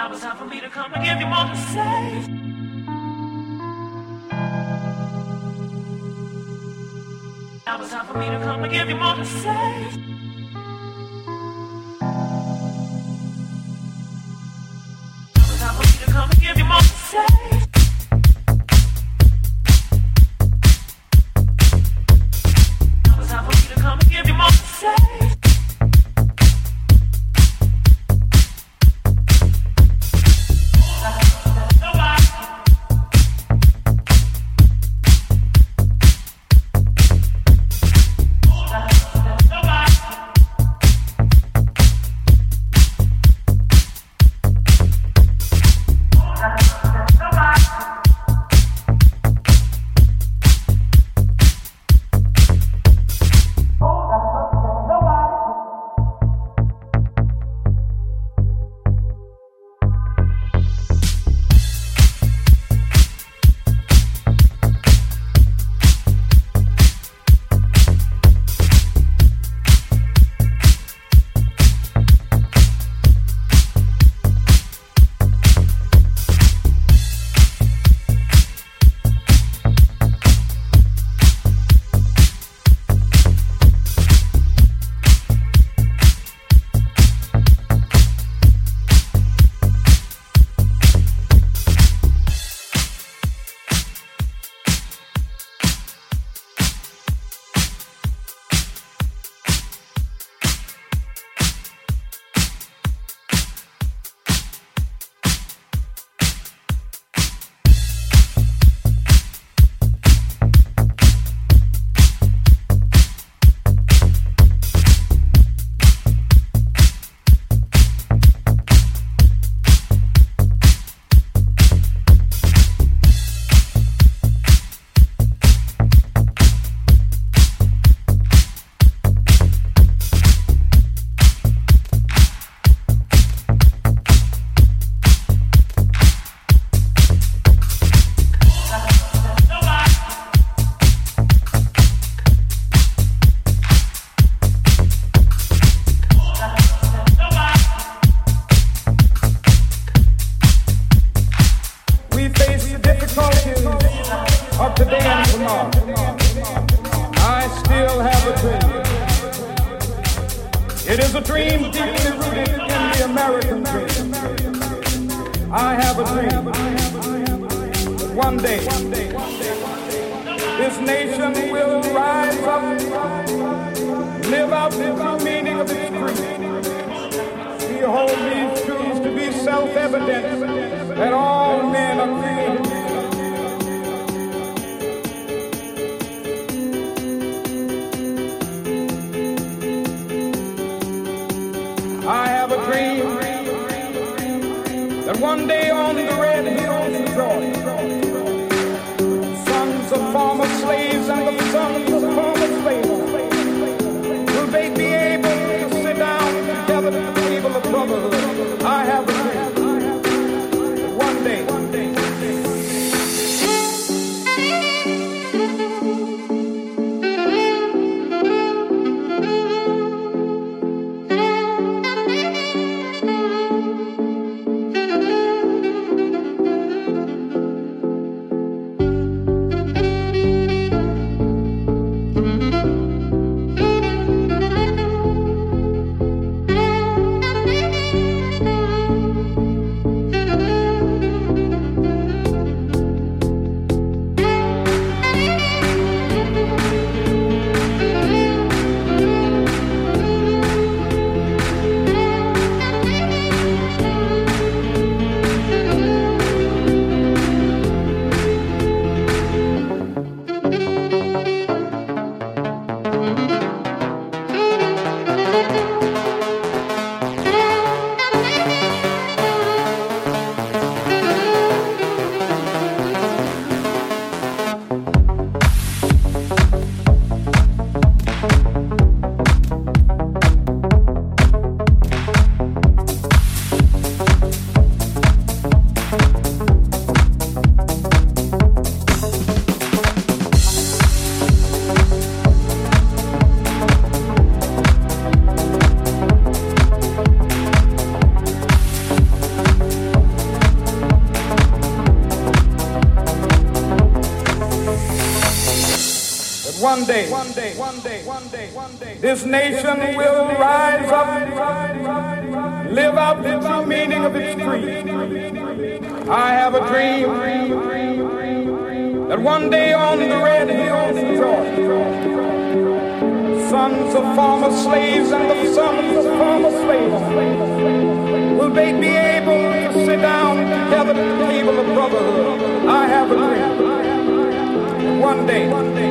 Now it's time for me to come and give you more to say. Now it's time for me to come and give you more to say. Now it's time for me to come and give you more to say. Now it's time for me to come and give you more to say. this nation will rise up, live out the true meaning of its creed. I have a dream that one day on the red hills of Georgia, sons of former slaves and the sons of former slaves will they be able to sit down together at the table of brotherhood. I have a dream. One day.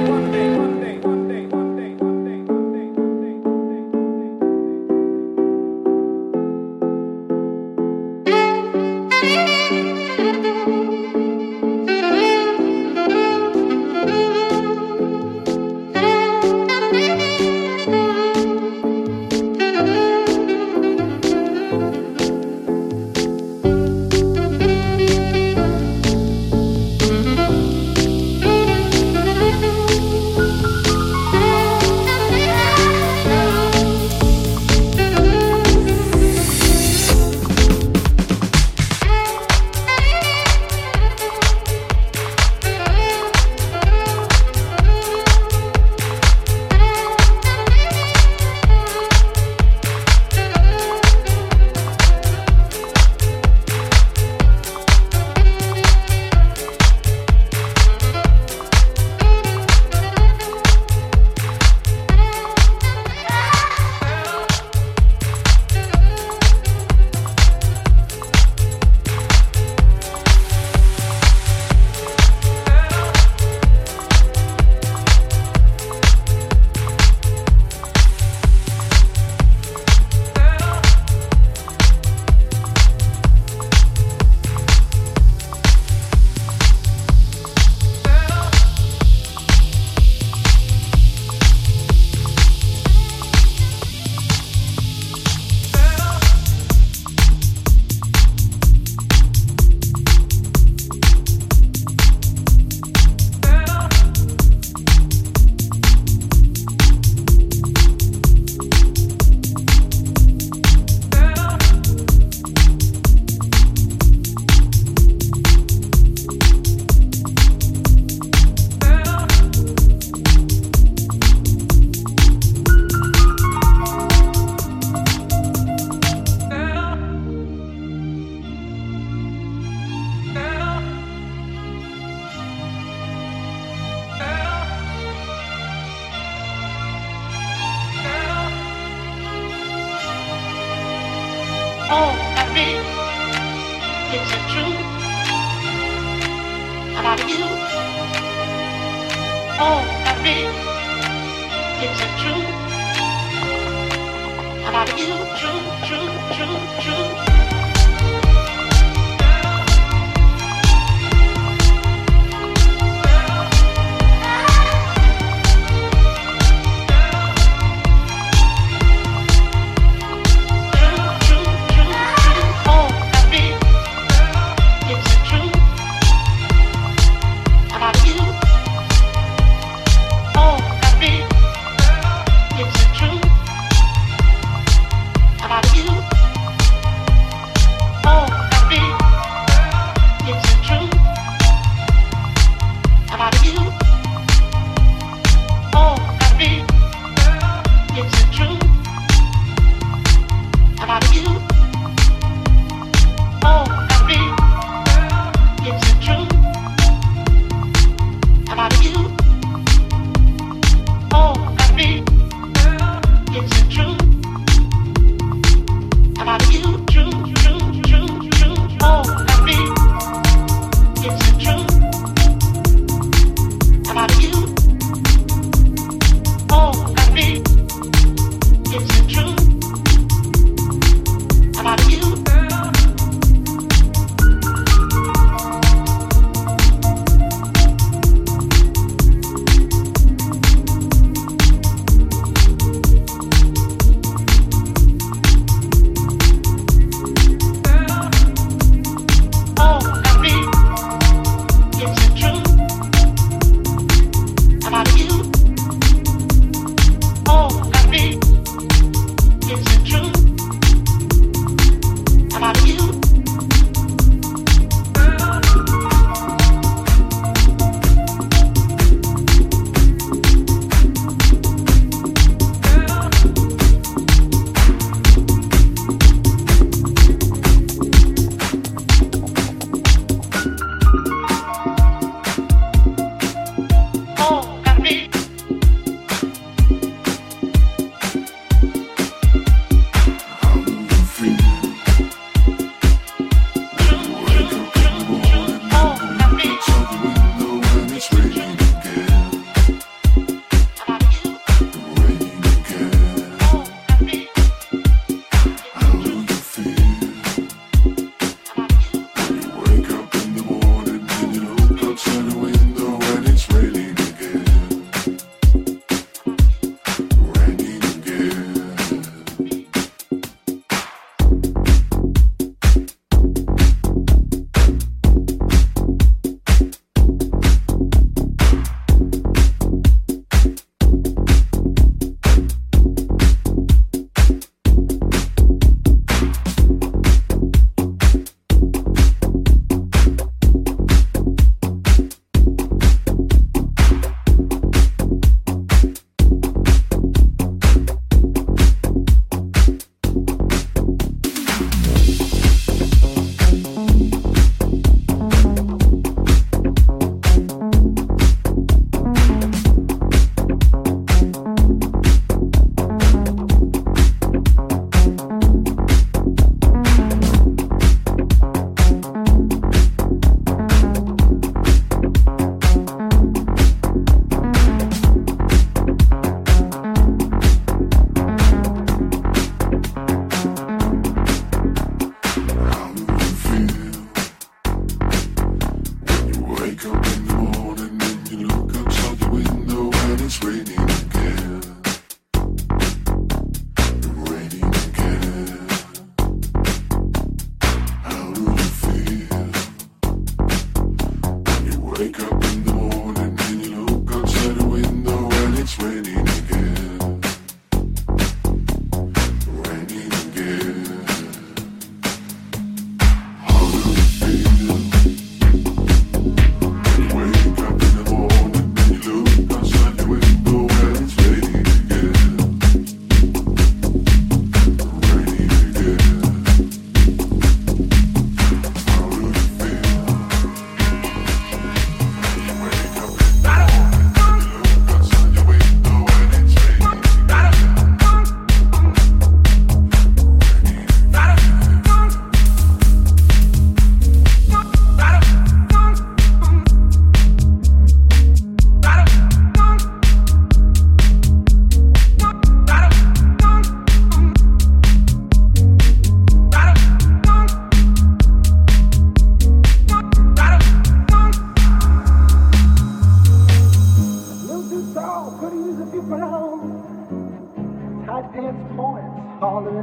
all I read is the truth about you. All I read is the truth about you. True.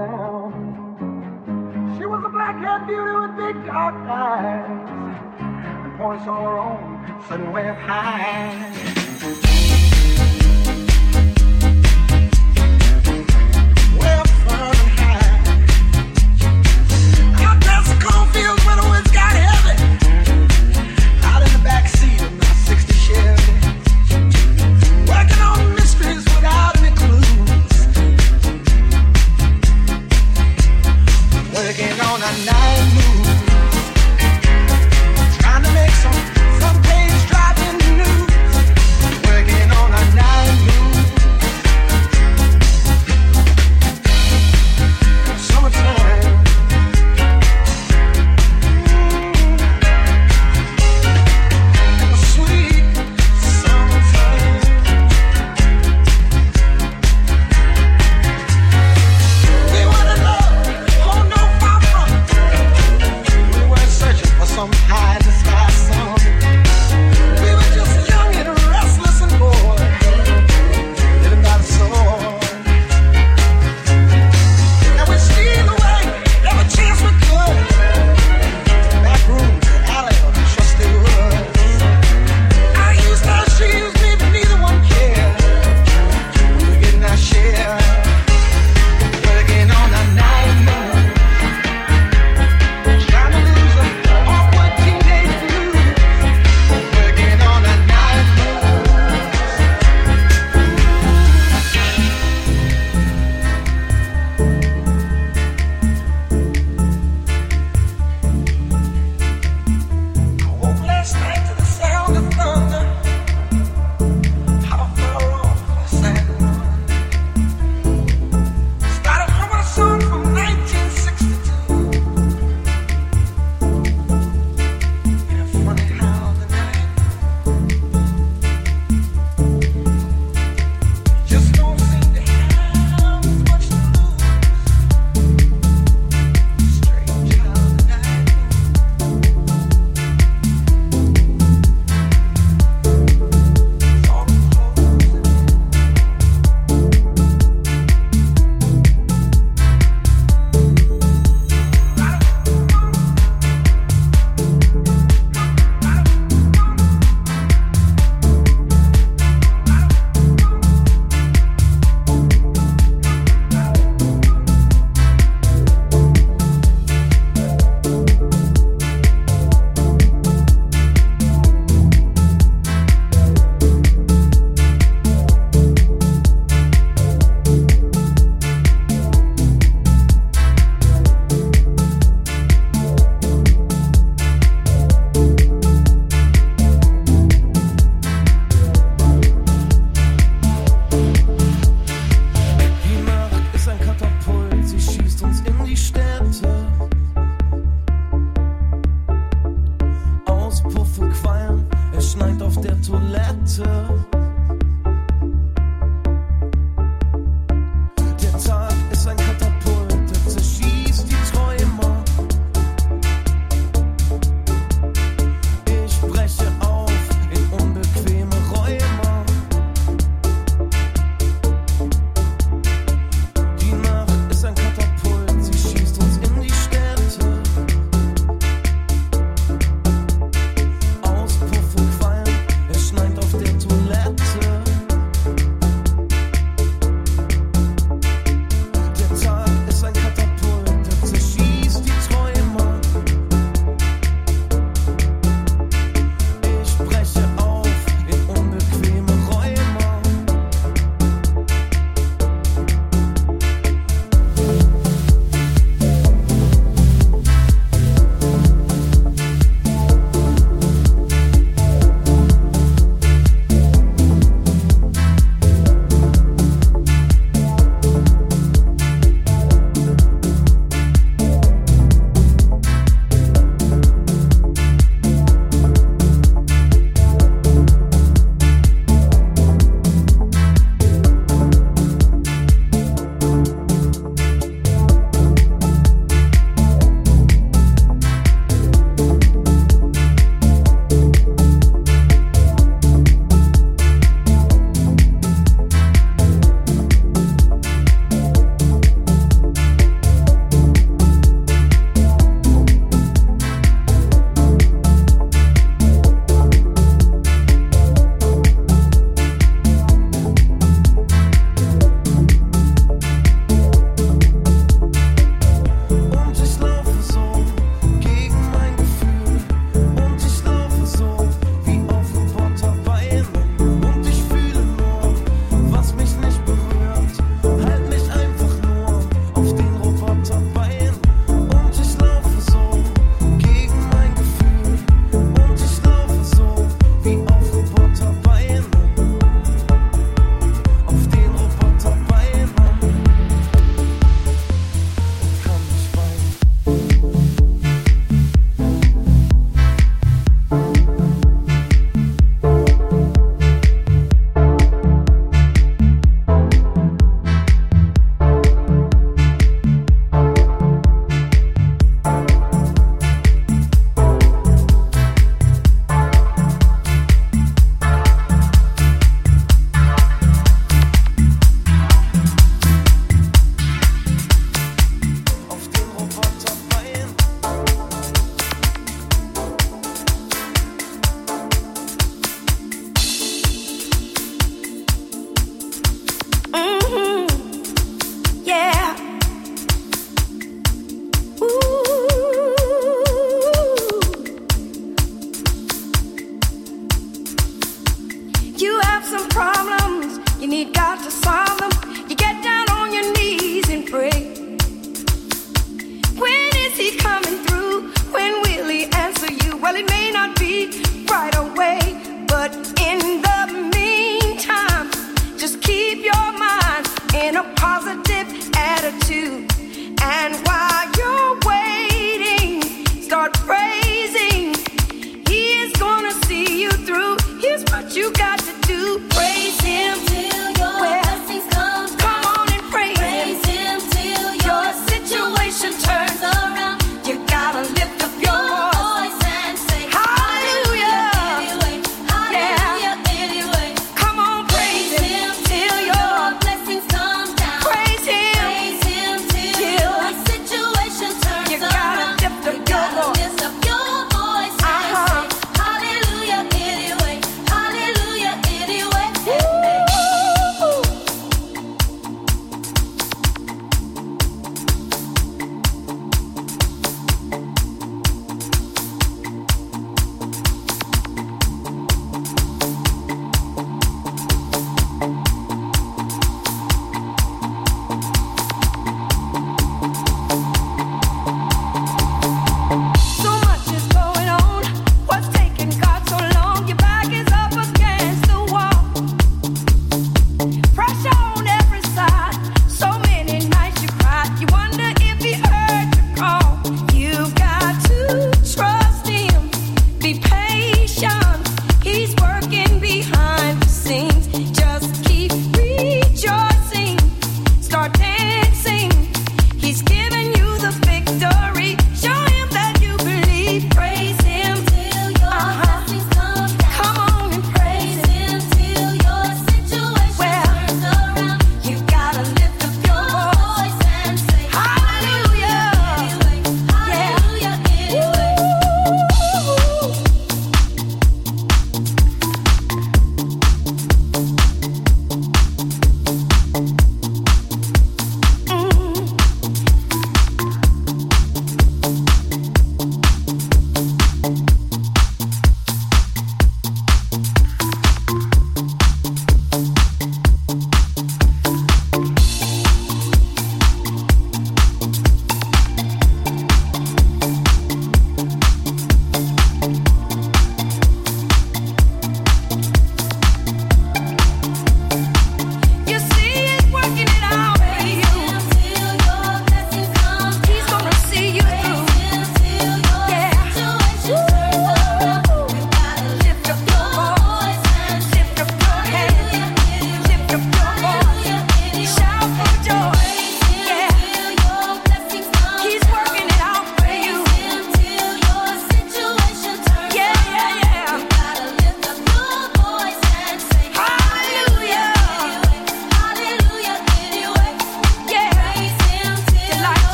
now. She was a black-haired beauty with big dark eyes and points all her own, sudden way of high. Well, fun and high. Out past the cornfields where the winds got heavy. Out in the backseat of my 60 Chevy. Working on mysteries without any clues. Working on a night move. Trying to make some page driving news. Working on a night move. Summertime. Sweet summertime. We were in love, oh no, far from. We were searching for some high in the sky song.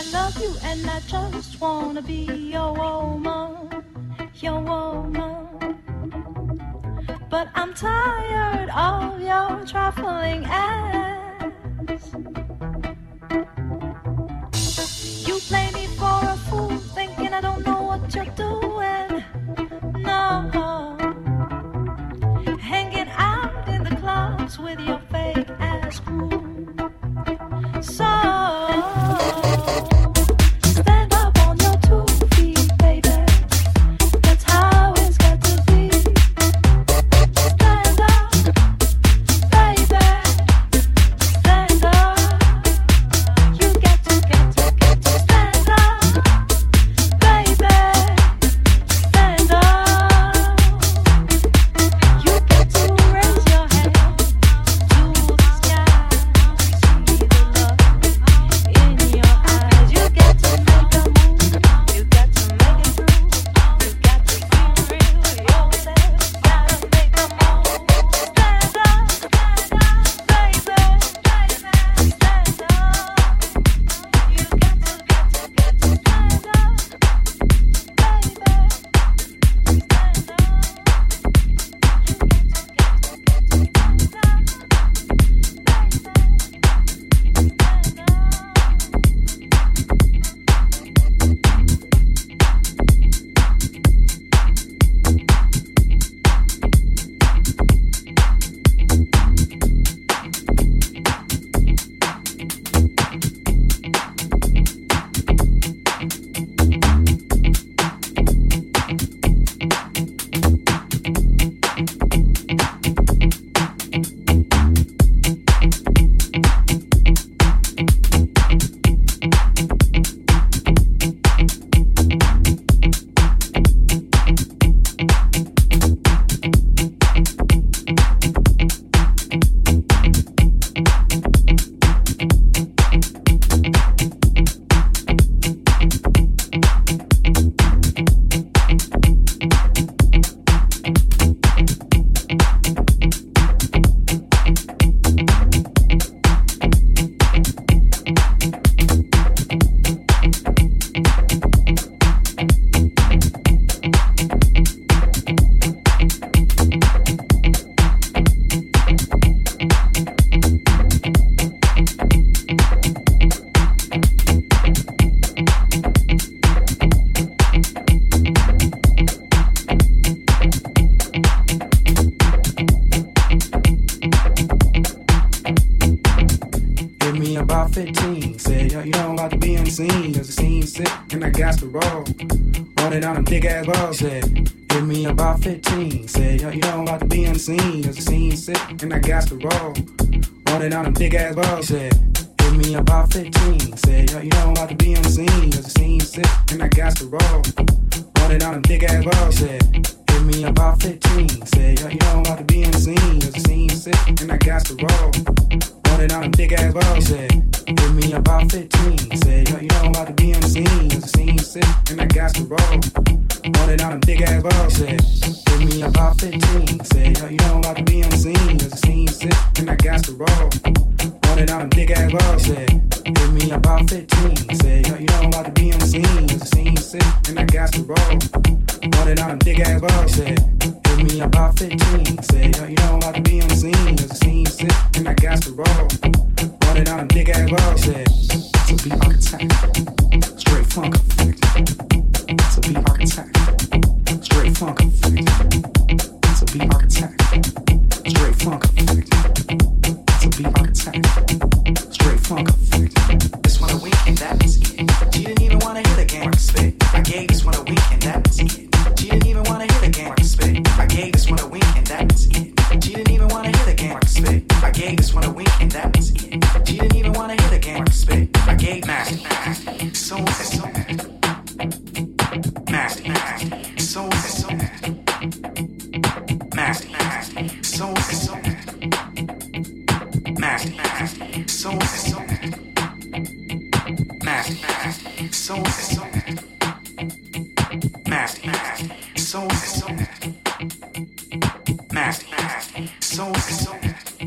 love you and I just wanna be your woman, your woman. But I'm tired of your trifling acts. You play me for a fool, thinking I don't know what you're doing. No, hanging out in the clubs with your fake ass crew. So stand up on your 2 feet, baby. That's how it's got to be. Stand up, baby. Stand up. You got to stand up, baby. Stand up. You got to raise your hand to the sky. See the love in your eyes. You got to make a move. You got to make it through. You got to feel real yourself. Gotta make a move. Stand up, baby. Stand up. You got to stand Give me about 15. Said, yo, you know I'm about to be on the scene. Cause the scene's sick and I got to roll. Running on them big ass balls. Said, give me about 15. Said, yo, you know I'm about to be on the scene. Cause the scene's sick and I got to roll. Running on them big ass balls. Said, give me about 15. Said, yo, you know I'm about to be on the scene. Cause the scene's sick and I got to roll. Running on them big ass balls. Said, give me about 15. Said, yo, you know I'm about to be on the scene. Cause the scene's sick and I got to roll. Running on them big ass balls. Said, give me about 15. Said, yo, you know I'm about to be on the scene. Cause the scene's sick and I got to roll. Running on them big ass balls. Said, give me about 15. Said, yo, you know I'm about to be on the scene. Cause the scene's sick and I got to roll. Running on them big ass balls. Said, give me about 15. Said, yo, you know I'm about to be on the scene. Cause the scene's sick and I got to roll. Running on them big ass balls. Said, give me about 15. Said, yo, you know I'm about to be on the scene. Cause the scene's sick and I got to roll. Running on them big ass balls. Said, to be architect, straight funk effect. To be architect, straight funk effect. To be architect, straight funk effect. To be architect, straight funk effect. This one a week and that was it. She didn't even wanna hit again. Mark spit. I gave this one a week and that was it. She didn't even wanna hit again. Mark spit. I gave this one a week and that was it. She didn't even wanna hit again. Mark spit. I gave this one a week and that was it. She didn't even wanna hit again. Mark spit. I gave nasty, so nasty, nasty, so nasty, nasty, so nasty, nasty, so nasty, nasty, so nasty, nasty, so nasty, so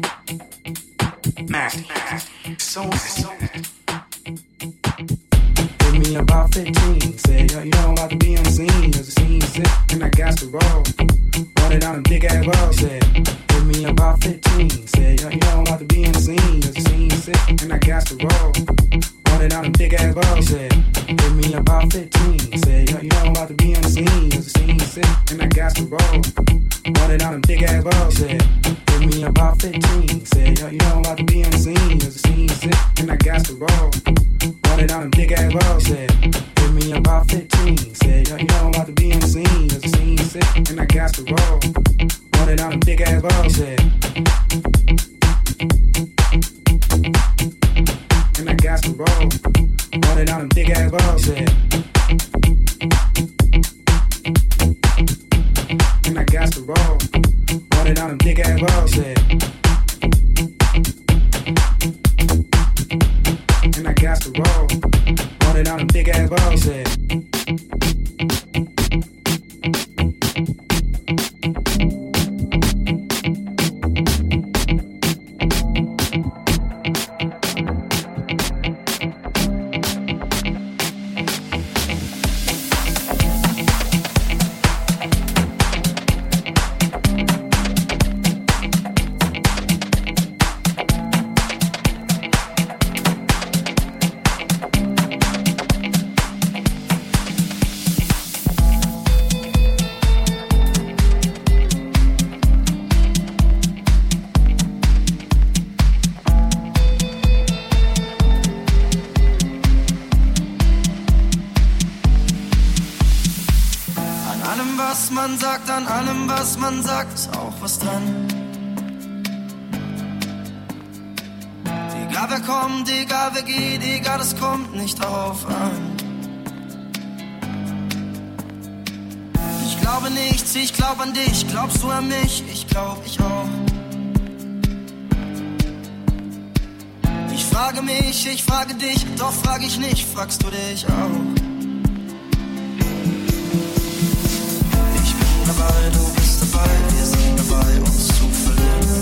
nasty, so me about 15. Said, yo, you know I'm about to be unseen. Cause the scene's sick and I got to roll. Wanted on them big ass balls. Said, give me about 15. Said, yo, you know I'm about to be unseen. Cause the scene's sick and I got to roll. Wanted on them big ass balls. Said, give me about 15. Said, yo, you know I'm about to be unseen. Cause the scene's sick and I got to roll. Wanted on them big ass balls. Said, give me about 15. Said, yo, you know I'm about to be unseen. Cause the scene's sick and I got to roll. Wanted on them big ass balls. Said, give me about 15. Said, yo, you know I'm about to be unseen. Cause the scene's sick and I got to roll. Wanted on them big ass balls. Said, and I got to roll. Wanted on them big ass balls. Said, and I got to roll. Wanted on them big ass balls. Said, and I got to roll. Wanted on them big ass balls. Said, an allem, was man sagt, ist auch was dran. Egal wer kommt, egal wer geht, egal, es kommt nicht drauf an. Ich glaube nichts, ich glaub an dich, glaubst du an mich? Ich glaub, ich auch. Ich frage mich, ich frage dich, doch frag ich nicht, fragst du dich auch? Du bist dabei, wir sind dabei, uns zu verlieren.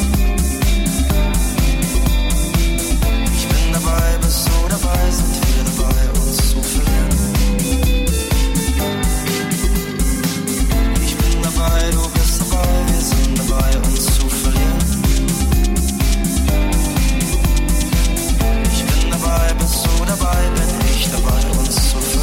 Ich bin dabei, bist du dabei, sind wir dabei, uns zu verlieren. Ich bin dabei, du bist dabei, wir sind dabei, uns zu verlieren. Ich bin dabei, bist du dabei, bin ich dabei, uns zu verlieren.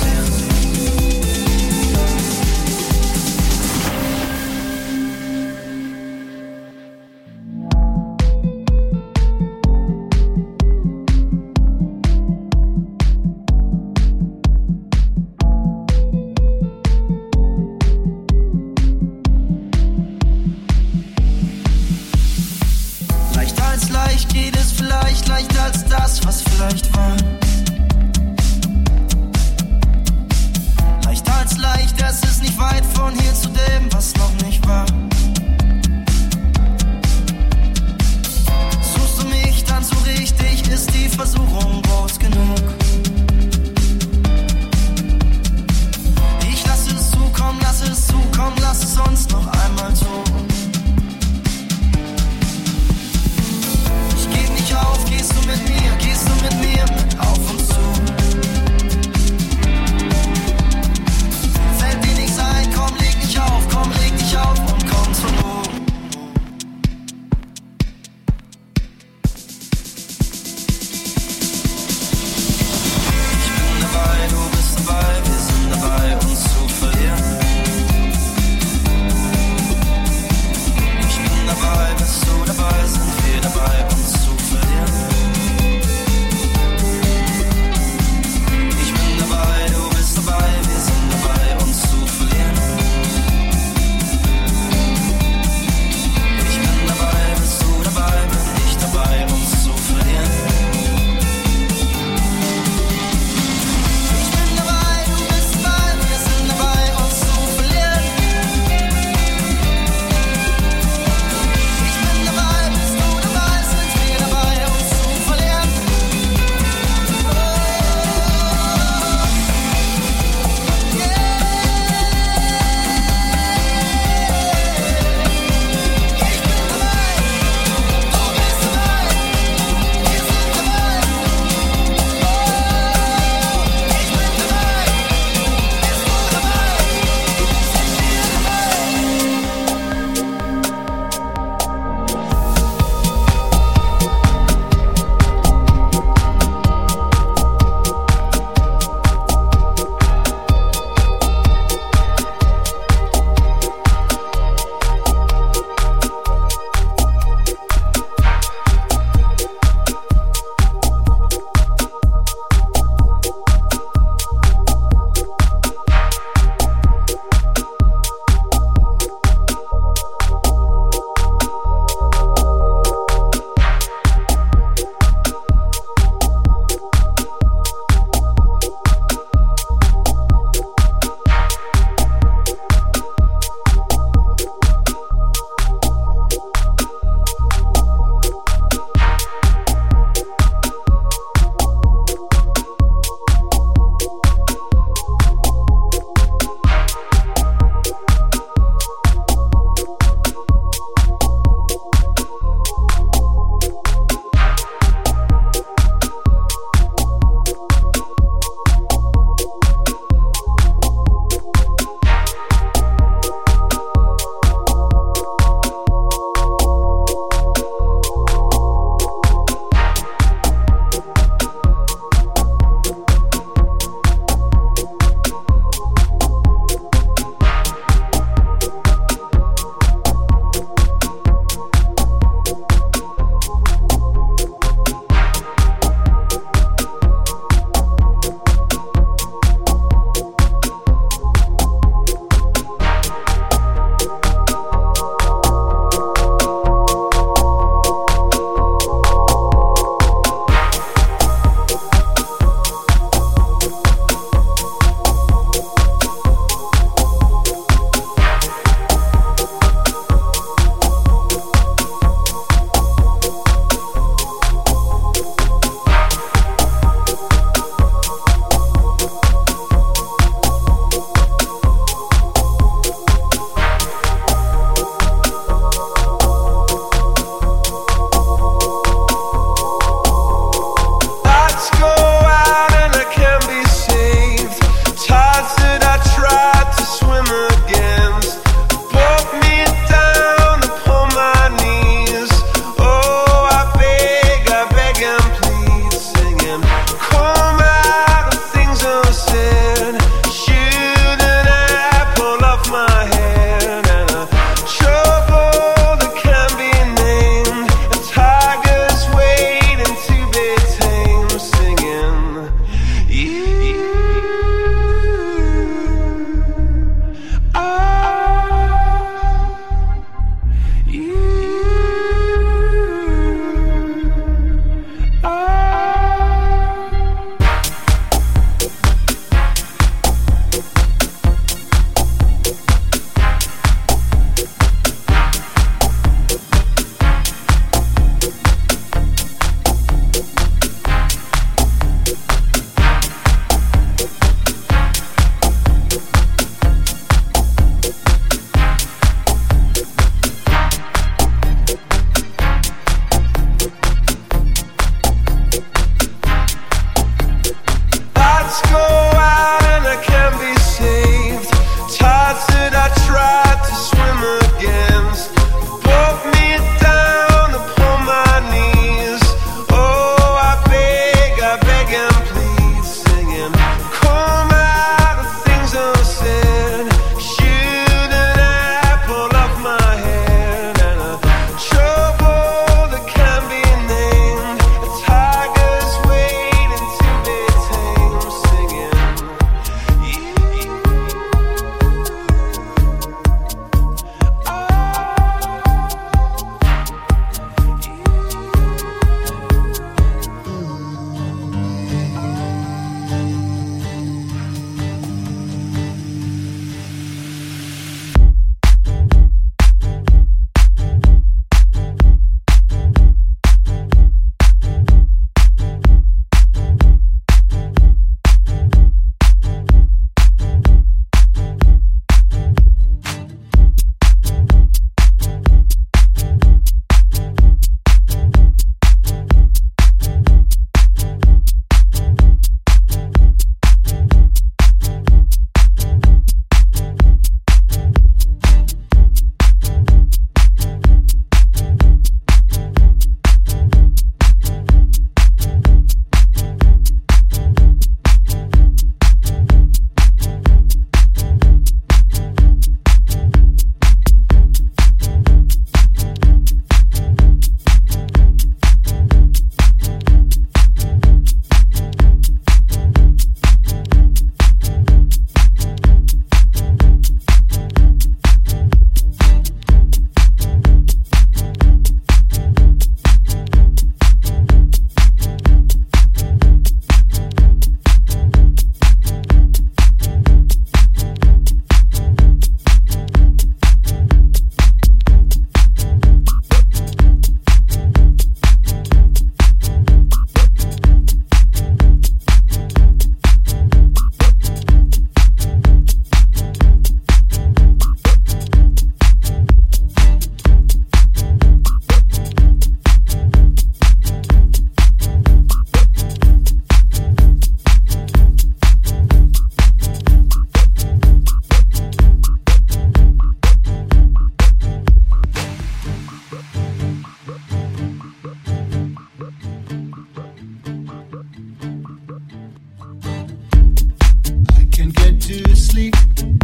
to sleep,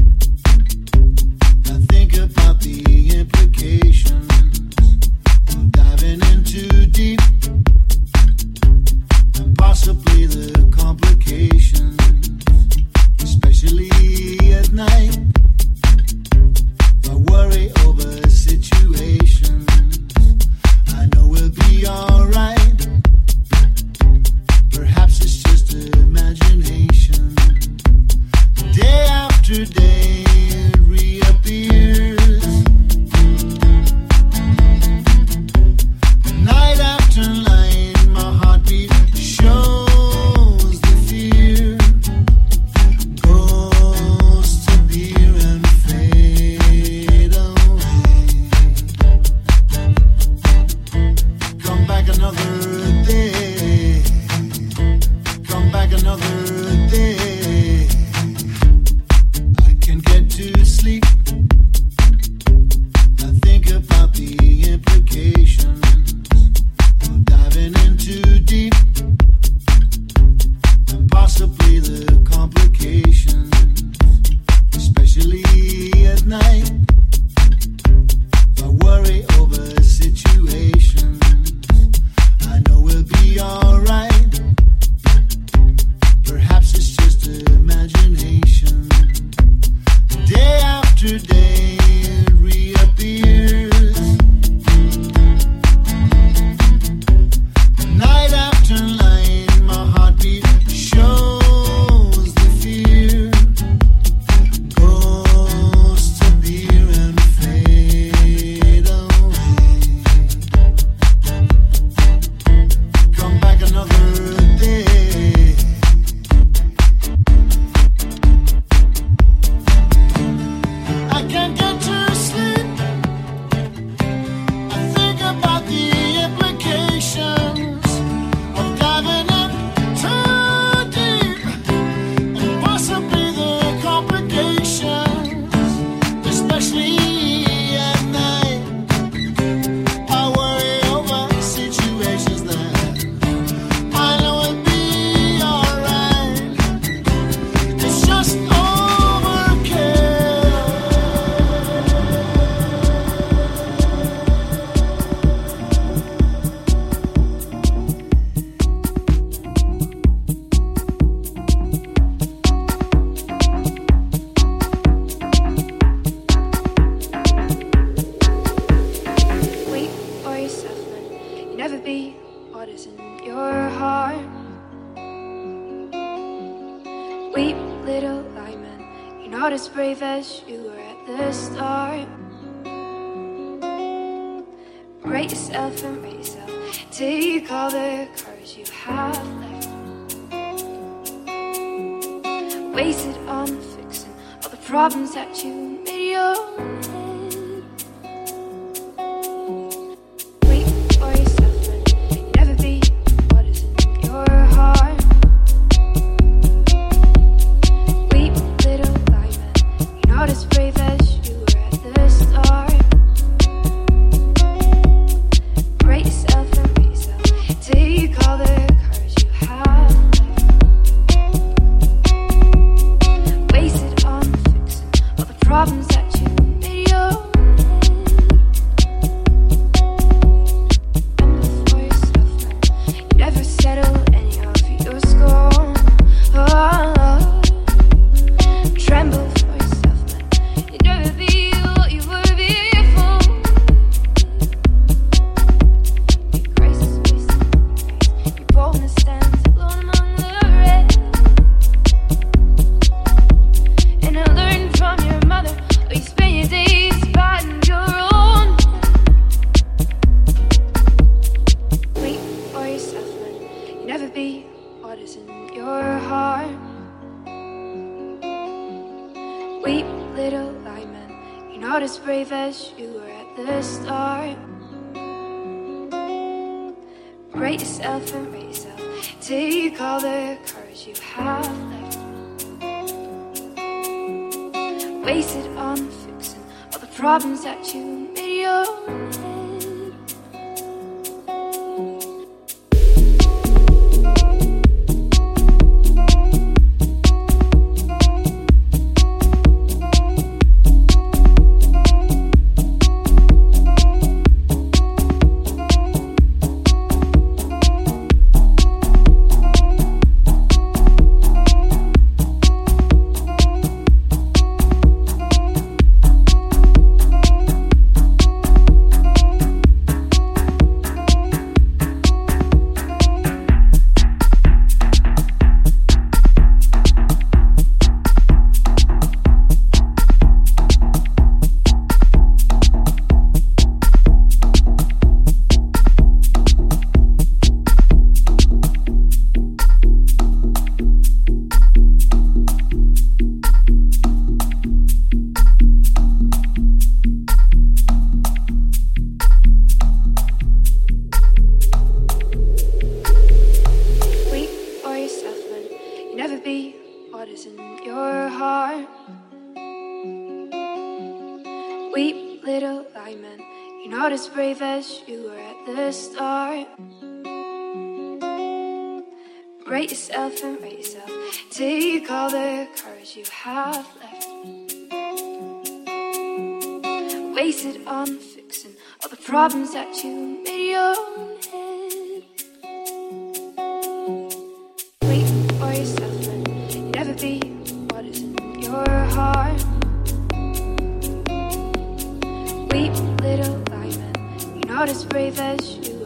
I think about the implications of diving in too deep, and possibly the complications, especially at night. I worry over situations I know we'll be alright. Perhaps it's just imagination. Day after day it reappears. Night after night my heartbeat shows the fear. Goes to appear and fade away. Come back another day. Come back another day. I can't get to sleep. I think about the implications of diving in too deep, and possibly the complications, especially at night. I worry over situations I know we'll be alright. Perhaps it's just imagination. Day after day it reappears. Night after night my heartbeat shows the fear. Goes to appear and fade away. Come back another day. I can't get to sleep. I think about the implications of diving in too deep, and possibly the complications, especially at night. I worry over situations that I know will be alright. It's just overkill. Wait for yourself, man. You never be what is in your heart. Weep, little lion, you're not as brave as you were at the start. Rate yourself and rate yourself. Take all the courage you have left. Waste it on fixing all the problems that you made your own head. Wait for yourself, man. You never be what is in your heart. Weep, little lion, you're not as brave as you were at the start. Rate yourself and rate yourself. Take all the courage you have left. Waste it on fixing all the problems that you made your own head. Remember for yourself, man. You never settle any of your scorn. Tremble for yourself, man. You never be what you were before. Your grace is based on grace. Your boldness stands alone among the rest. And I learned from your mother, where you spend your days fighting your own. Wait for yourself, man. You never be what is in your heart. Weep, little lion, you're not as brave as you were at the start. Rate yourself and rate yourself. Take all the courage you have left. Waste it on fixing all the problems that you made your own head. what is in your heart. Weep, little lineman, you're not as brave as you were at the start. Rate yourself and rate yourself. Take all the courage you have left. Waste it on fixing all the problems that you made your own head. Wait for yourself and you'll never be what is in your heart. Weep, little lineman, you're not as brave as you